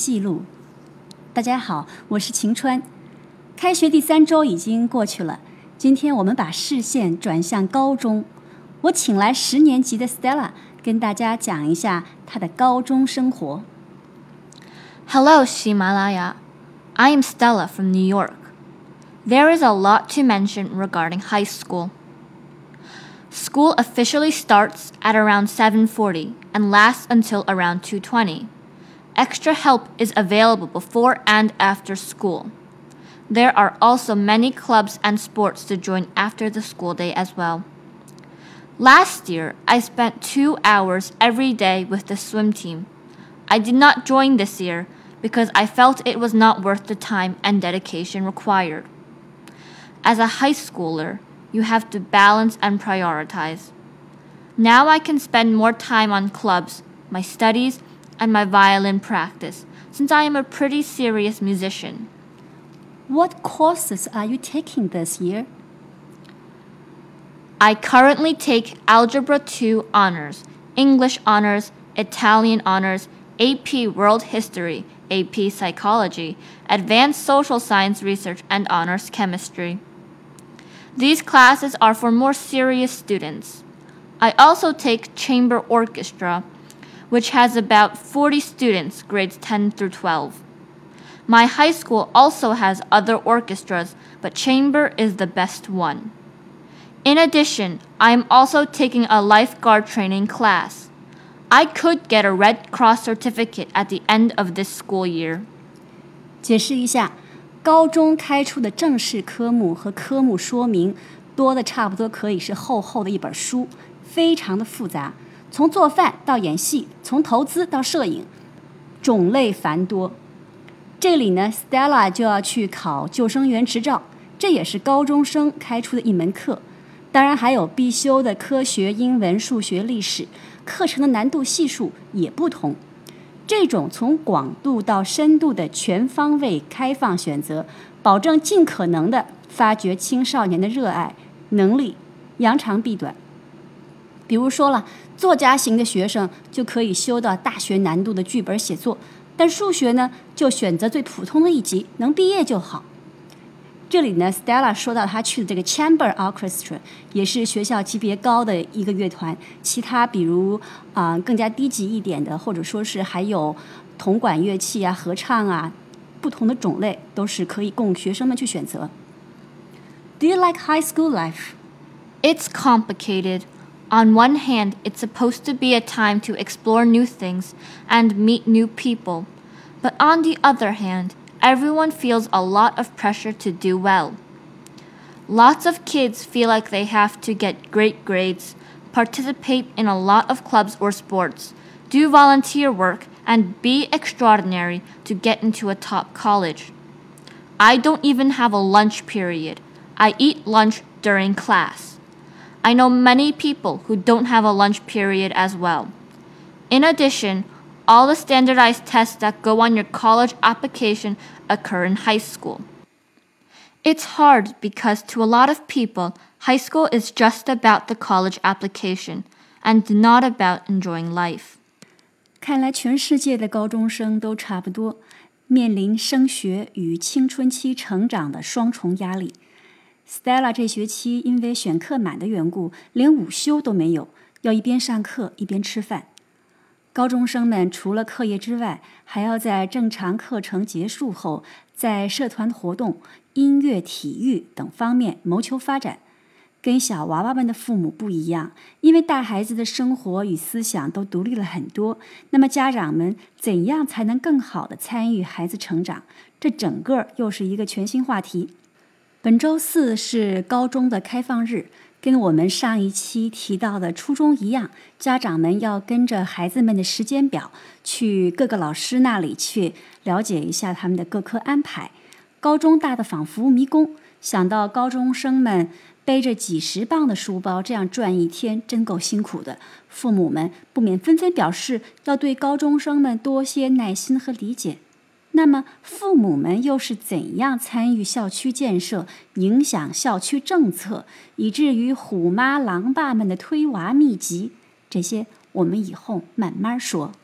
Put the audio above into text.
记录。大家好，我是晴川。开学第3周已经过去了，今天我们把视线转向高中。我请来10年级的 Stella 跟大家讲一下她的高中生活。 Hello, Shimalaya. I am Stella from New York. There is a lot to mention regarding high school. School officially starts at around 7:40 and lasts until around 2:20. Extra help is available before and after school. There are also many clubs and sports to join after the school day as well. Last year, I spent 2 hours every day with the swim team. I did not join this year because I felt it was not worth the time and dedication required. As a high schooler, you have to balance and prioritize. Now I can spend more time on clubs, my studies, and my violin practice, since I am a pretty serious musician. What courses are you taking this year? I currently take Algebra 2 honors, English honors, Italian honors, AP World History, AP Psychology, Advanced Social Science Research, and Honors Chemistry. These classes are for more serious students. I also take Chamber Orchestra, which has about 40 students, grades 10 through 12. My high school also has other orchestras, but Chamber is the best one. In addition, I am also taking a lifeguard training class. I could get a Red Cross certificate at the end of this school year. 解释一下，高中开出的正式科目和科目说明多的差不多可以是厚厚的一本书，非常的复杂，从做饭到演戏，从投资到摄影，种类繁多。这里呢 Stella 就要去考救生员执照，这也是高中生开出的一门课。当然还有必修的科学、英文、数学、历史，课程的难度系数也不同。这种从广度到深度的全方位开放选择，保证尽可能的发掘青少年的热爱、能力，扬长避短。比如说了，作家型的学生就可以修到大学难度的剧本写作，但数学呢，就选择最普通的一级，能毕业就好。这里呢 Stella 说到她去的这个 Chamber Orchestra 也是学校级别高的一个乐团，其他比如更加低级一点的，或者说是还有铜管乐器啊、合唱啊，不同的种类都是可以供学生们去选择。Do you like high school life? It's complicated. On one hand, it's supposed to be a time to explore new things and meet new people. But on the other hand, everyone feels a lot of pressure to do well. Lots of kids feel like they have to get great grades, participate in a lot of clubs or sports, do volunteer work, and be extraordinary to get into a top college. I don't even have a lunch period. I eat lunch during class. I know many people who don't have a lunch period as well. In addition, all the standardized tests that go on your college application occur in high school. It's hard because to a lot of people, high school is just about the college application and not about enjoying life. 看来全世界的高中生都差不多，面临升学与青春期成长的双重压力。Stella 这学期因为选课满的缘故，连午休都没有，要一边上课一边吃饭。高中生们除了课业之外，还要在正常课程结束后，在社团活动、音乐、体育等方面谋求发展。跟小娃娃们的父母不一样，因为大孩子的生活与思想都独立了很多，那么家长们怎样才能更好地参与孩子成长？这整个又是一个全新话题。本周4是高中的开放日，跟我们上一期提到的初中一样，家长们要跟着孩子们的时间表去各个老师那里去了解一下他们的各科安排。高中大的仿佛迷宫，想到高中生们背着几十磅的书包这样转一天，真够辛苦的。父母们不免纷纷表示要对高中生们多些耐心和理解。那么父母们又是怎样参与校区建设，影响校区政策，以至于虎妈狼爸们的推娃秘籍？这些我们以后慢慢说。